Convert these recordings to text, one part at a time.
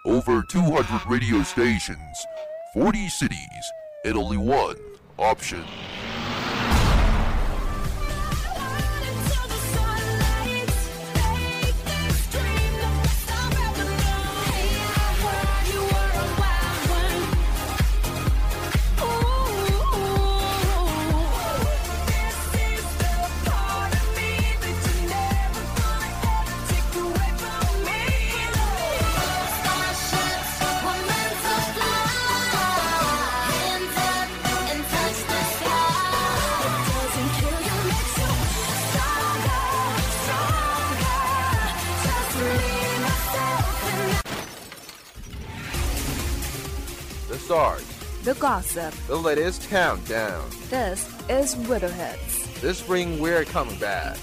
Over 200 radio stations, 40 cities, and only one option. The stars, the gossip, the latest countdown. This is Weather Hits. This spring we're coming back.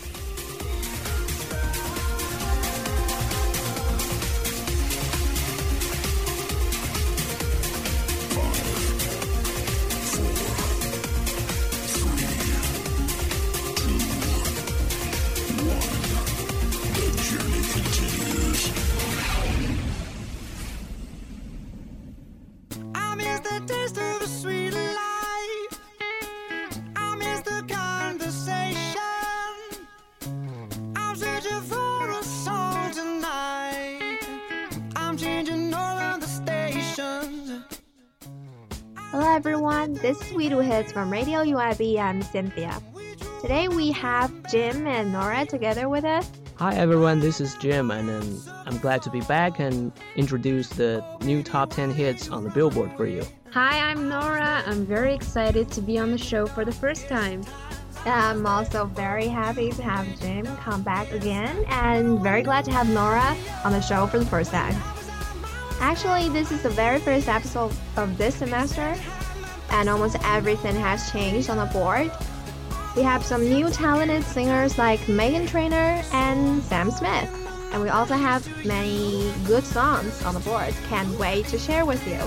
Hello everyone, this is Weather Hits from Radio UIB. I'm Cynthia. Today we have Jim and Nora together with us. Hi everyone, this is Jim, and I'm glad to be back and introduce the new top 10 hits on the Billboard for you. Hi, I'm Nora. I'm very excited to be on the show for the first time. I'm also very happy to have Jim come back again, and very glad to have Nora on the show for the first time. Actually, this is the very first episode of this semester, and almost everything has changed on the board. We have some new talented singers like Meghan Trainor and Sam Smith, and we also have many good songs on the board. Can't wait to share with you.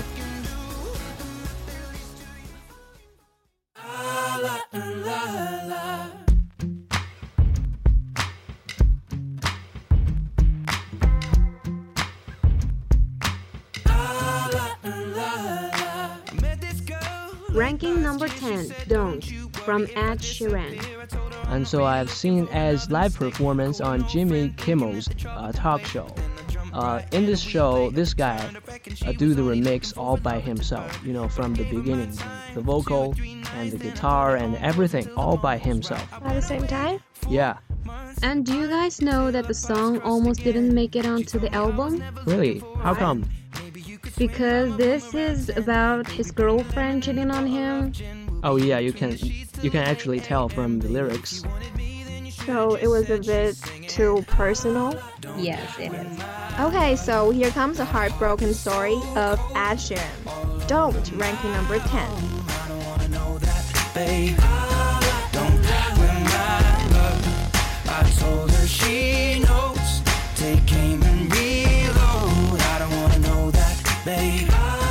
Ranking number 10, Don't, from Ed Sheeran. And so I've seen Ed's live performance on Jimmy Kimmel's talk show. In this show, this guy do the remix all by himself, from the beginning, the vocal and the guitar and everything all by himself. At the same time? Yeah. And do you guys know that the song almost didn't make it onto the album? Really? How come? Because this is about his girlfriend cheating on him. Oh yeah, you can actually tell from the lyrics. So it was a bit too personal? Yes, it is. Okay, so here comes a heartbroken story of Ed Sheeran. Don't, ranking number 10. I don't wanna know that, babe. Don't win my love. I told her she knows. Take aim and reload. I don't wanna know that, babe.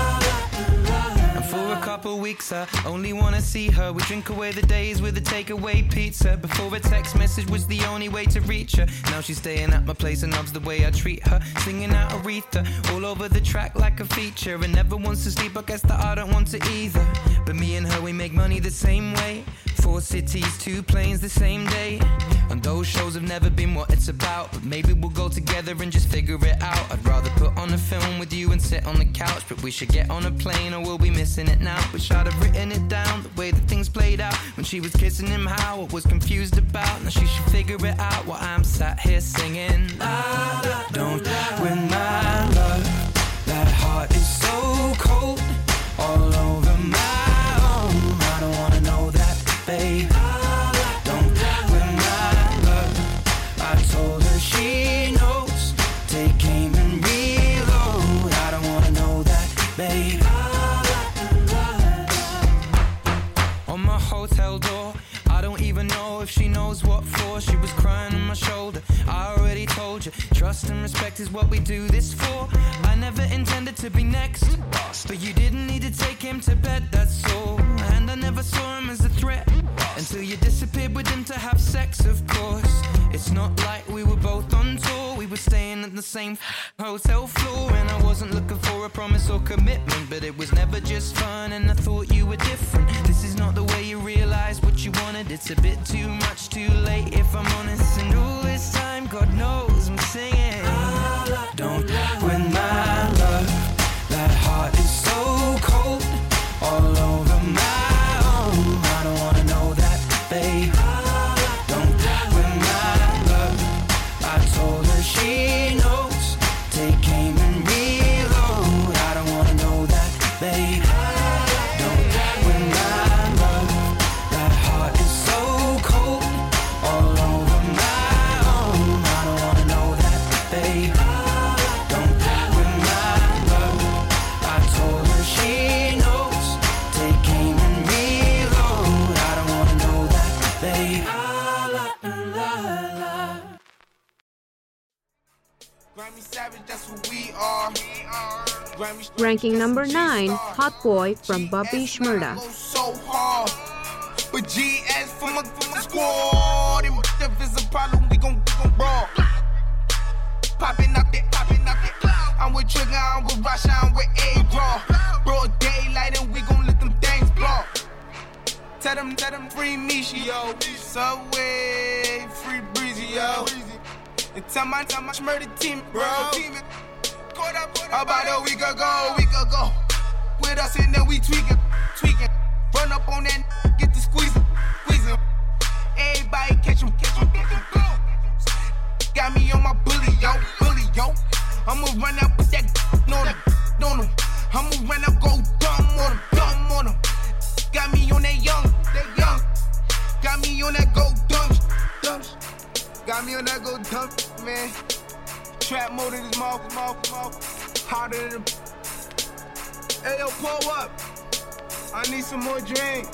And for a couple weeks I only wanna see her. We drink away the days with a takeaway pizza. Before a text message was the only way to reach her. Now she's staying at my place and loves the way I treat her. Singing out Aretha all over the track like a feature. And never wants to sleep, I guess that I don't want to either. But me and her, we make money the same way. 4 cities, 2 planes the same day. And those shows have never been what it's about. But maybe we'll go together and just figure it out. I'd rather put on a film with you and sit on the couch. But we should get on a plane or we'll be missing it now. Wish I'd have written it down, the way that things played out. When she was kissing him, how I was confused about. Now she should figure it out while I'm sat here singing. La, la, don't win my love. That heart is so cold, all over my own. I don't wanna know that, babe. Don't win my love. I told her she knows. Take aim and reload. I don't wanna know that, babe. On my hotel door, I don't even know if she knows what for. She was crying on my shoulder. I already told you, trust and respect is what we do this for. I never intended to be next, but you didn't need to take him to bed, that's all. And I never saw him as a threat until you disappeared with him to have sex, of course. It's not like we were both on tour. We were staying sleeping in the same hotel floor. And I wasn't looking for a promise or commitment, but it was never just fun, and I thought you were different. This is not the way you realize what you wanted. It's a bit too much too late, if I'm honest. And all this time, God knows I'm singing. Don't win my love. That heart is so cold, all over my own. I don't wanna know that, babe. Don't win my love. I told her she knows. Take aim and reload. I don't wanna know that, babe. Don't win my love. That heart is so cold, all over my own. I don't wanna know that, babe. Don't win my love. I told her she knows. Take aim and reload. I don't wanna know that, babe. Ranking number 9, Hot Boy from Bobby Shmurda. So hard, but GS from a squad. And if it's a problem, we gon' brawl. Popping up it. I'm with Trigger, I'm with Rasha, I'm with A-Raw. Broad daylight and we gon' let them things blow. Tell them free Misha, yo. Subway, free Breezy, yo. And tell my Shmurda team, bro. About a week ago. With us and then we tweaking. Run up on that, get to squeezing. Everybody catch him. Got me on my bully, yo. I'ma run up with that on him. I'ma run up, go dumb on him. Got me on that young. Got me on that go dumb. Got me on that go dumb, man. Trap mode in his mouth. Harder than hey, yo, pull up. I need some more drink.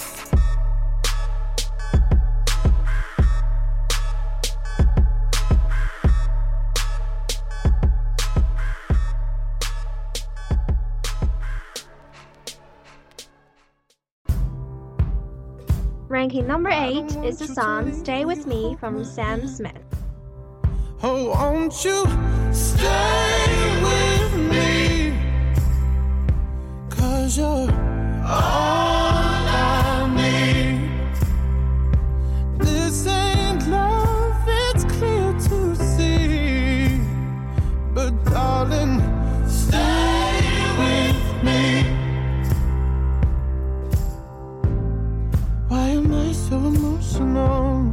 Ranking number 8 is the song Stay With Me from Sam Smith. Oh, won't you stay with me? 'Cause you're all I need. This ain't love, it's clear to see. But darling, stay with me. Why am I so emotional?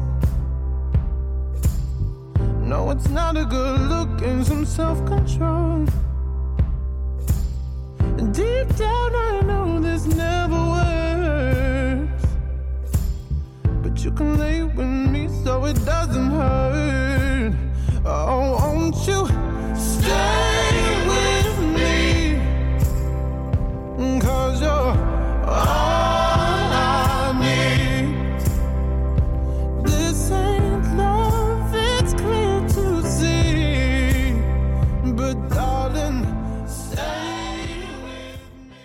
No, it's not a good look and some self-control. Deep down I know this never works, but you can lay with me so it doesn't hurt. Oh, won't you stay with me? 'Cause you're all I need. This ain't love, it's clear to see. But darling, stay with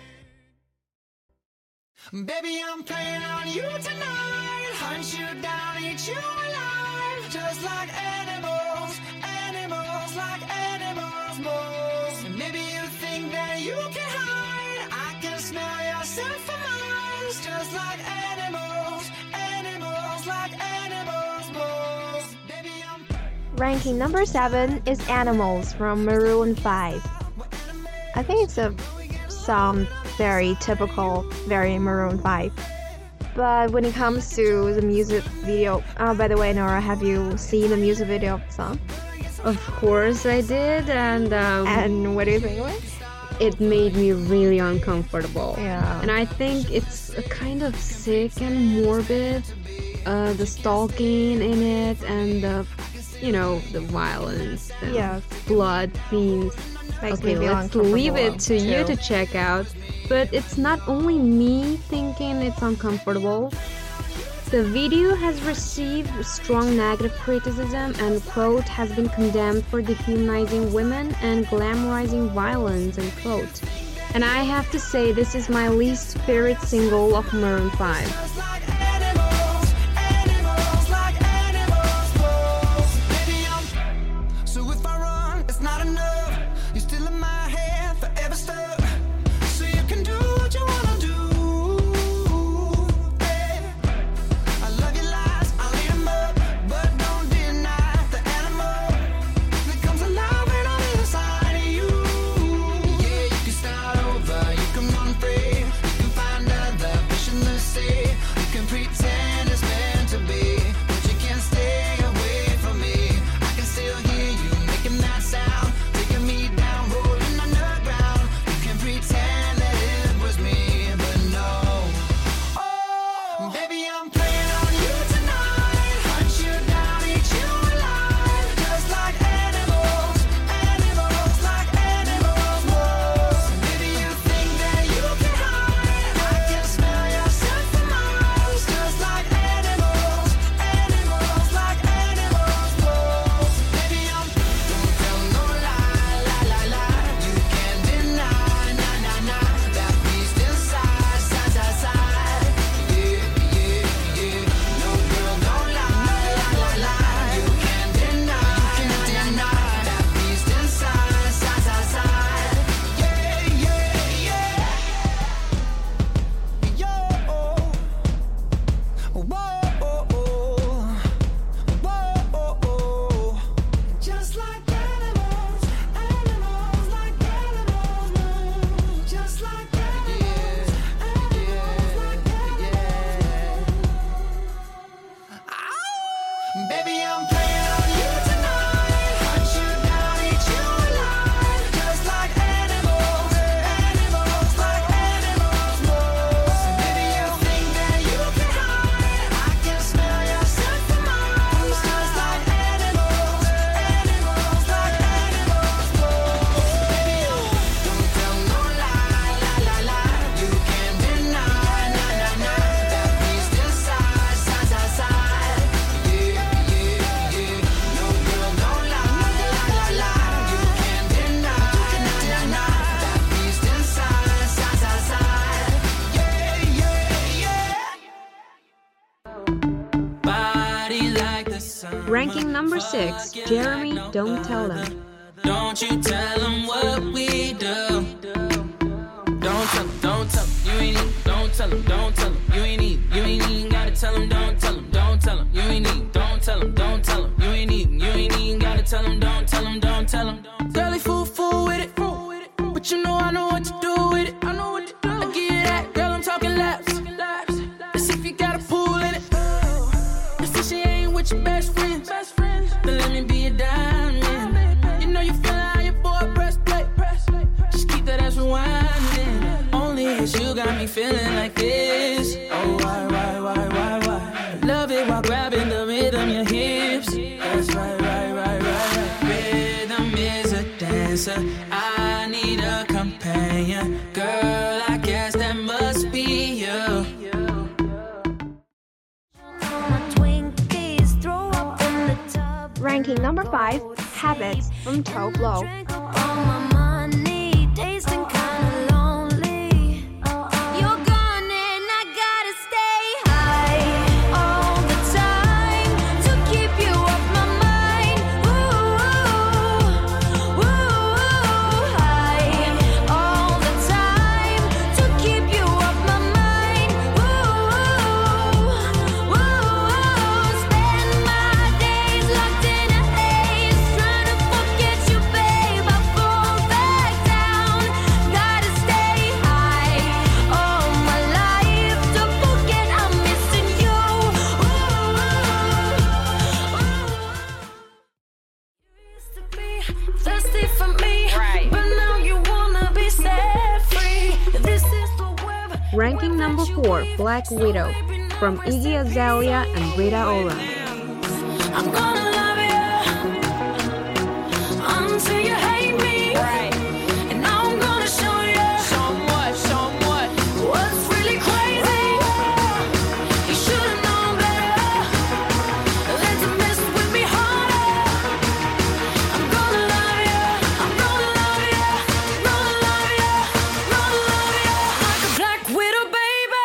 me. Baby, I'm playing on you tonight. Hunt you down, eat you alive. Just like animals like animals most. And maybe you think that you can hide. I can smell yourself for miles. Just like animals like animals most. Baby, I'm Ranking number 7 is Animals from Maroon 5. I think it's a song very typical, very Maroon 5. But when it comes to the music video, by the way, Nora, have you seen the music video of the song? Of course I did, And what do you think of it? it made me really uncomfortable. Yeah. And I think it's a kind of sick and morbid, the stalking in it and the, the violence and Yes. blood scenes. Makes me Okay, feel let's leave it to uncomfortable, you too. to check out. But it's not only me thinking it's uncomfortable. The video has received strong negative criticism and, quote, has been condemned for dehumanizing women and glamorizing violence, and quote. And I have to say, this is my least favorite single of Maroon 5. So if I run, it's not enough. Ranking number 6, Jeremy, Don't Tell Them. Don't you tell them what we do. Don't tell them, don't tell them, you ain't even, don't tell them, don't tell them, you ain't even gotta tell them, don't tell them, don't tell them, you ain't even, don't tell them, don't tell them, you ain't even gotta tell them, don't tell them, don't tell them. Girl, they fool with it, but you know I know what to do with it, I give you that, girl, I'm talking laps, let's see if you got a pool in it, let's see she ain't with your best friends, then let me be a diamond, you know you feelin' how your boy press play, just keep that ass rewinding, only it's you got me feeling like this, oh why, love it while grabbing the rhythm, your hips, that's right, rhythm is a dancer, I need a companion, girl, I guess that must be you. Ranking number 5, Habits from Toe Blow. Ranking number 4, Black Widow from Iggy Azalea and Rita Ora. I'm gonna love you until you hate me, and I'm gonna show you what's really crazy. You should've known better than to mess with me harder. I'm gonna love you, I'm gonna love you, gonna love you, gonna love you like a Black Widow, baby.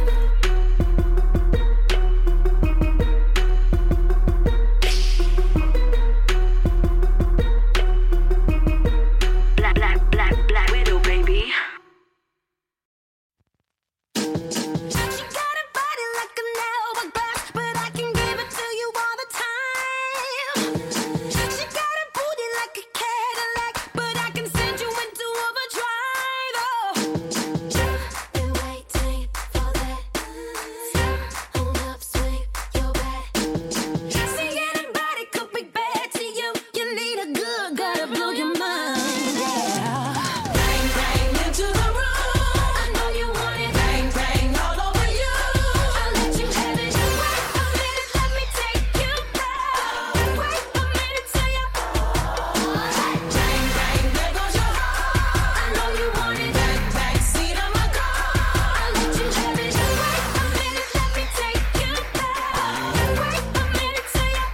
Black Widow, baby. She got a body like an hourglass, but I can give it to you all the time. She got a booty like a Cadillac, but I can send you into overdrive. Oh, been waiting for that. Hold up, swing your back. See, anybody could be bad to you. You need a good guy to blow your mind. Bang, bang into the room. I know you want it. Bang, bang all over you. I'll let you have it. Wait a minute, let me take you back. Wait a minute till you. Bang, bang, there goes your heart. I know you want it. Back seat of my car. I'll let you have it. Wait a minute, let me take you back. Wait a minute till you.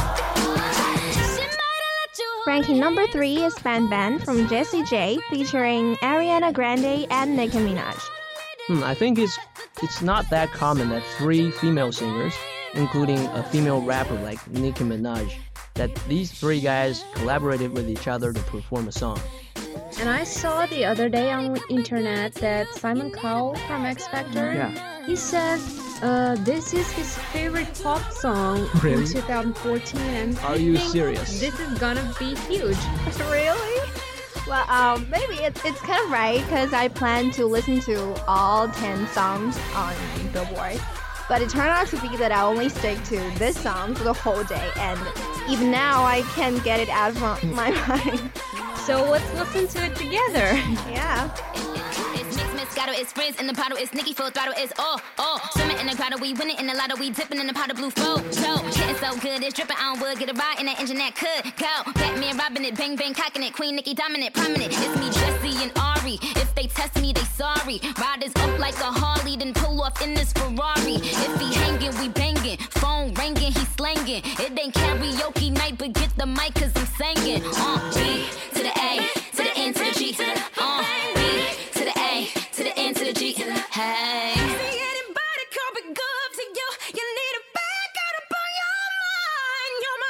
She might have let you. Ranking number 3 is Ban Ban from Jessie J featuring Ariana Grande and Nicki Minaj. I think it's not that common that 3 female singers, including a female rapper like Nicki Minaj, that these 3 guys collaborated with each other to perform a song. And I saw the other day on the internet that Simon Cowell from X Factor, he said this is his favorite pop song Really? in 2014. And Are I you think serious? This is gonna be huge. Really? Well, maybe it's kind of right because I plan to listen to all 10 songs on Billboard. But it turned out to be that I only stick to this song for the whole day, and even now I can't get it out of my mind. So let's listen to it together. Yeah. It's mix, Moscato, it's Frizz in the bottle, it's Nicki full throttle, it's swimming in the grotto, we winning in the lotto, we dipping in the pot of blue photo. Getting so good, it's dripping on wood, get a ride in that engine that could go. Batman robbing it, bang bang cocking it, Queen Nicki dominant, prominent. It's me, Jesse and Ari. If they test me, they sorry. Riders up like a Harley, then pull off in this Ferrari. If he hanging, we banging. Phone ringing, he slanging. It ain't karaoke night, but get the mic 'cause I'm singing. B to the A, to the N to the G. B to the A, to the N to the G. Hey. See anybody could be good to you. You need a bag out up on your mind. You're my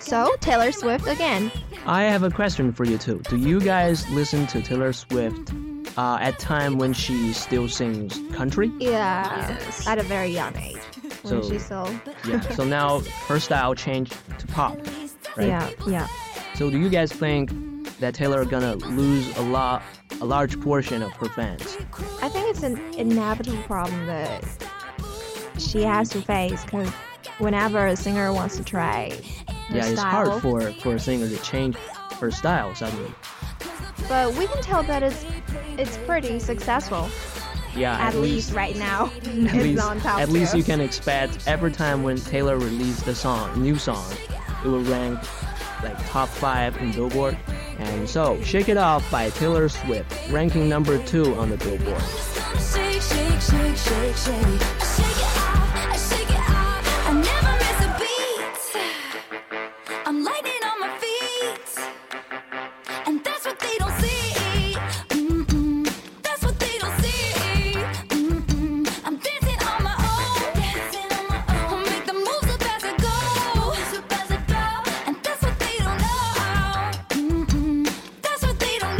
So, Taylor Swift again. I have a question for you too. Do you guys listen to Taylor Swift at time when she still sings country? Yeah, at a very young age. When So- she's so... Yeah. So now her style changed to pop, right? Yeah. So do you guys think that Taylor gonna lose a large portion of her fans? I think it's an inevitable problem that she has to face because whenever a singer wants to try her Yeah, it's style, hard for a singer to change her style suddenly. but we can tell that it's pretty successful. Yeah, At least right now, at it's least, on top. at least too. you can expect every time when Taylor released a new song, it will rank like top 5 in Billboard. And so, Shake It Off by Taylor Swift, ranking number 2 on the Billboard. Shake, shake, shake, shake, shake. Shake it off, shake it off. I never miss a beat. I'm lightning on my feet, and that's what they don't see. That's what they don't see. I'm dancing on my own. Make the moves up as I go, and that's what they don't know. That's what they don't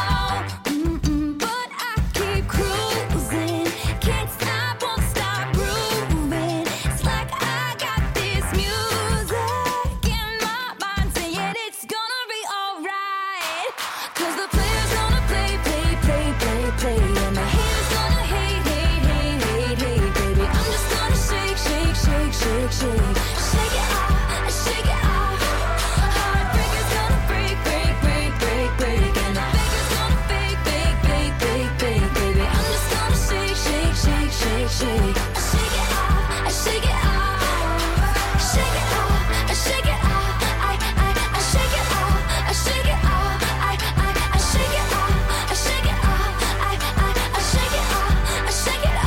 know. But I keep cruising, can't stop, won't stop grooving. It's like I got this music in my mind saying it's gonna be alright. 'Cause the player's gonna play, play, play, play, play, and the haters gonna hate, hate, hate, hate, hate, baby. I'm just gonna shake, shake, shake, shake, shake. Shake it off, shake it off. Heartbreaker's gonna break, break, break, break, break, and the faker's gonna fake, fake, fake, fake, fake, baby. I'm just gonna shake, shake, shake, shake, shake. Shake it off, shake it off. Shake it off, shake it off. I shake it off, shake it off. I shake it off, shake it off. I shake it off, shake it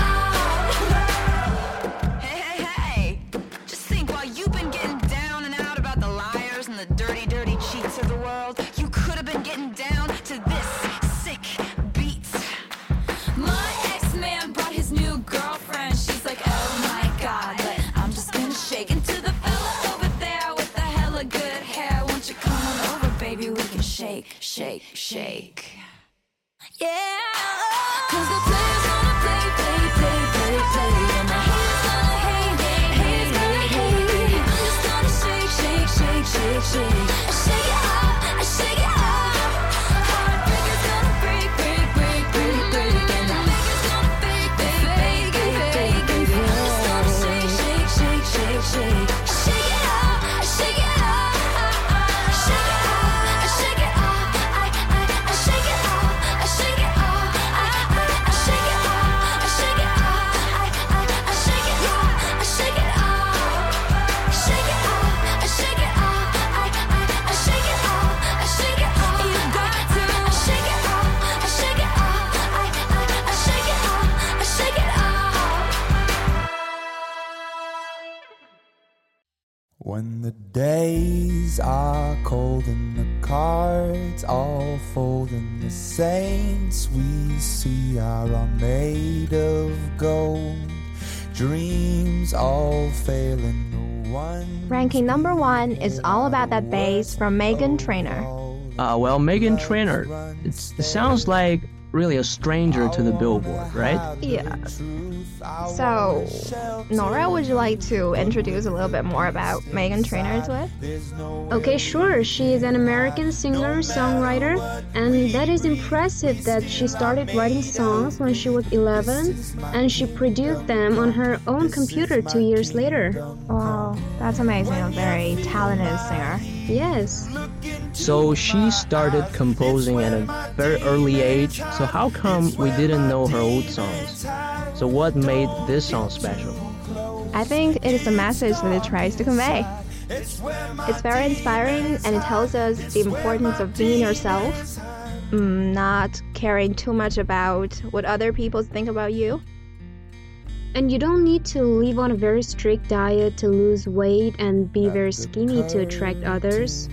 off. Hey, hey, hey. Just think, while you've been getting down and out about the liars and the dirty, dirty cheats of the world, you could have been getting down to this sick beat. My ex-man brought his new girlfriend. She's like, oh my god, but I'm just gonna shake into the fella over there with the hella good hair. Won't you come on over, baby? We can shake, shake, shake. Yeah, 'cause the player's gonna play, play, play, play, play, and the haters gonna hate, hate, hate, hate, hate, baby. I'm just gonna shake, shake, shake, shake, shake. Shake it off, shake it off. Heartbreaker's gonna break, break, break, break, break, and the faker's gonna fake, fake, fake, fake, fake, baby. I'm just gonna shake, shake, shake, shake, shake. Shake it off, shake it off. Shake it off, shake it off. I shake it off, shake it off. I shake it off, shake it off. I shake it off, shake it off. Shake it off, shake it off. I shake it off, shake it off. You got to shake it off, shake it off. I shake it off, shake it off. When the days are cold and the cards all fold and the saints we see are all made of gold, dreams all fail and no one. Ranking number 1 is All About That Bass from Meghan Trainor. Well, Meghan Trainor, it sounds like really a stranger to the Billboard, right? Yeah. So, Nora, would you like to introduce a little bit more about Meghan Trainor to us? Okay, sure. She is an American singer, songwriter, and that is impressive that she started writing songs when she was 11 and she produced them on her own computer 2 years later. Wow, that's amazing. A very talented singer. Yes. So she started composing at a very early age. So how come we didn't know her old songs? So what made this song special? I think it is the message that it tries to convey. It's very inspiring and it tells us the importance of being yourself, not caring too much about what other people think about you. And you don't need to live on a very strict diet to lose weight and be very skinny to attract others.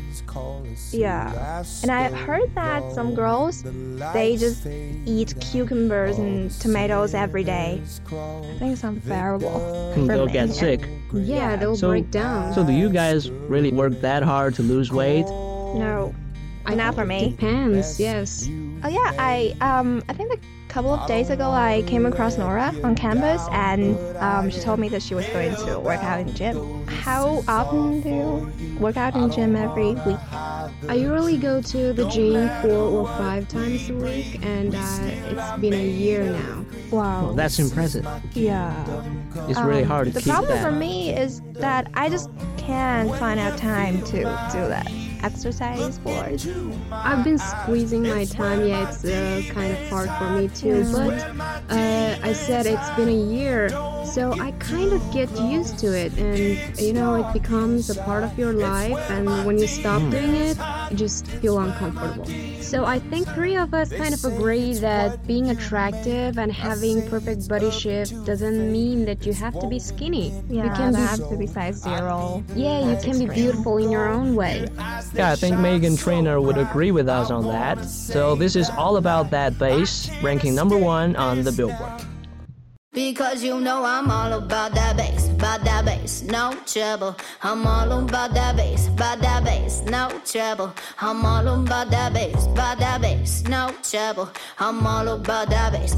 Yeah. And I heard that some girls, they just eat cucumbers and tomatoes every day. I think it's unbearable. They'll get sick. Yeah, they'll break down. So do you guys really work that hard to lose weight? No, not for me. Depends, yes. Oh yeah, I think a couple of days ago I came across Nora on campus, and she told me that she was going to work out in the gym. How often do you work out in the gym every week? I usually go to the gym 4 or 5 times a week, and it's been a year now. Wow. Well, that's impressive. Yeah. It's really hard to the keep that. The problem for me is that I just can't find out time to do that. Exercise sports. I've been squeezing my time. Yeah, it's kind of hard for me too. But I said it's been a year, so I kind of get used to it, and it becomes a part of your life. And when you stop doing it, you just feel uncomfortable. So I think 3 of us kind of agree that being attractive and having perfect body shape doesn't mean that you have to be skinny. Yeah, you can have to be size 0. Yeah, you can be beautiful in your own way. Yeah, I think Megan Trainor would agree with us on that. So this is all about that bass, ranking number 1 on the Billboard. Because I'm all about that bass, no trouble. I'm all about that bass, no trouble. I'm all about that bass, no trouble. I'm all about that bass,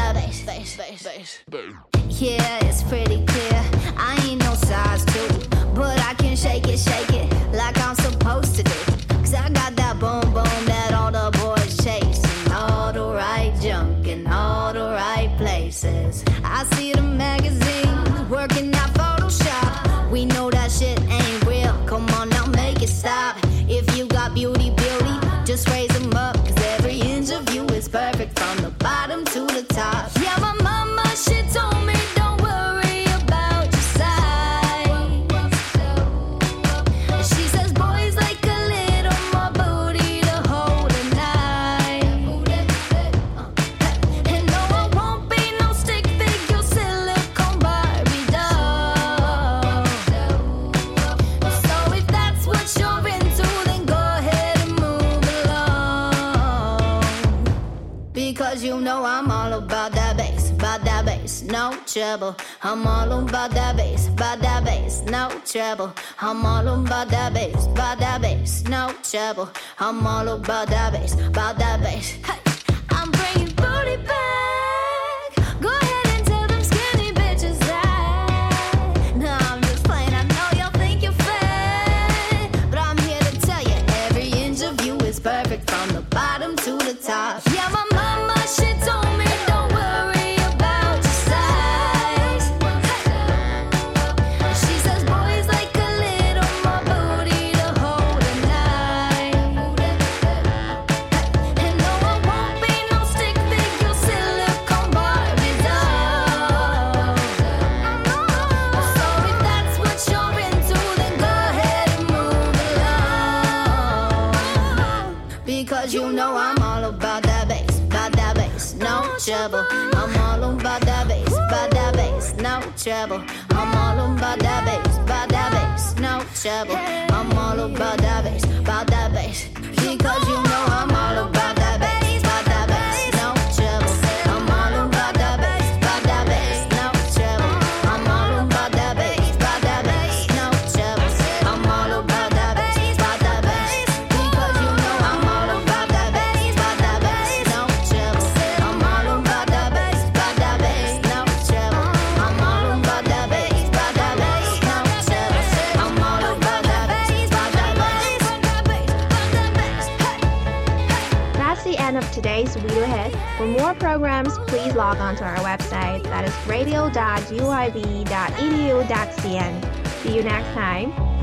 bass. Yeah, it's pretty clear. I ain't no size 2, but I can shake it like I'm supposed to do. 'Cause I got that boom boom that all the boys chase, and all the right junk in all the right places. I see the magazines working out Photoshop. We know that shit ain't real. Come on now, make it stop. If you got beauty, just raise them up. 'Cause every inch of you is perfect from the bottom to the top. Yeah, my mama, she told me don't worry about your size. She says boys like a little more booty to hold at night. And no, I won't be no stick figure silicone Barbie doll. So if that's what you're into, then go ahead and move along. Because I'm all about that bass, no trouble. I'm all about that bass, no trouble. I'm all about that bass, no trouble. I'm all about that bass. Hey, I'm bringing booty back. Go ahead and tell them skinny bitches that. No, I'm just playing. I know y'all think you're fat, but I'm here to tell you every inch of you is perfect from the bottom to the top. Yeah, my mama, she told me don't worry about your size. She says boys like a little more booty to hold at night. And no, I won't be no stick figure silicone Barbie doll. So if that's what you're into, then go ahead and move along. Because I'm all about that bass, no trouble. I'm all about that bass, no trouble. I'm all about that bass, no trouble. I'm all about that bass, because I'm all about that bass, no trouble. I'm all about that bass, no trouble. I'm all about that bass, no trouble. I'm all about that bass, because I'm all about that bass, no trouble. I'm all about that bass, no trouble. I'm all about that bass, no trouble. I'm all about that bass. That's the end of today's Video Hit. For more programs, please log on to our website. That is radio.uib.edu.cn. See you next time.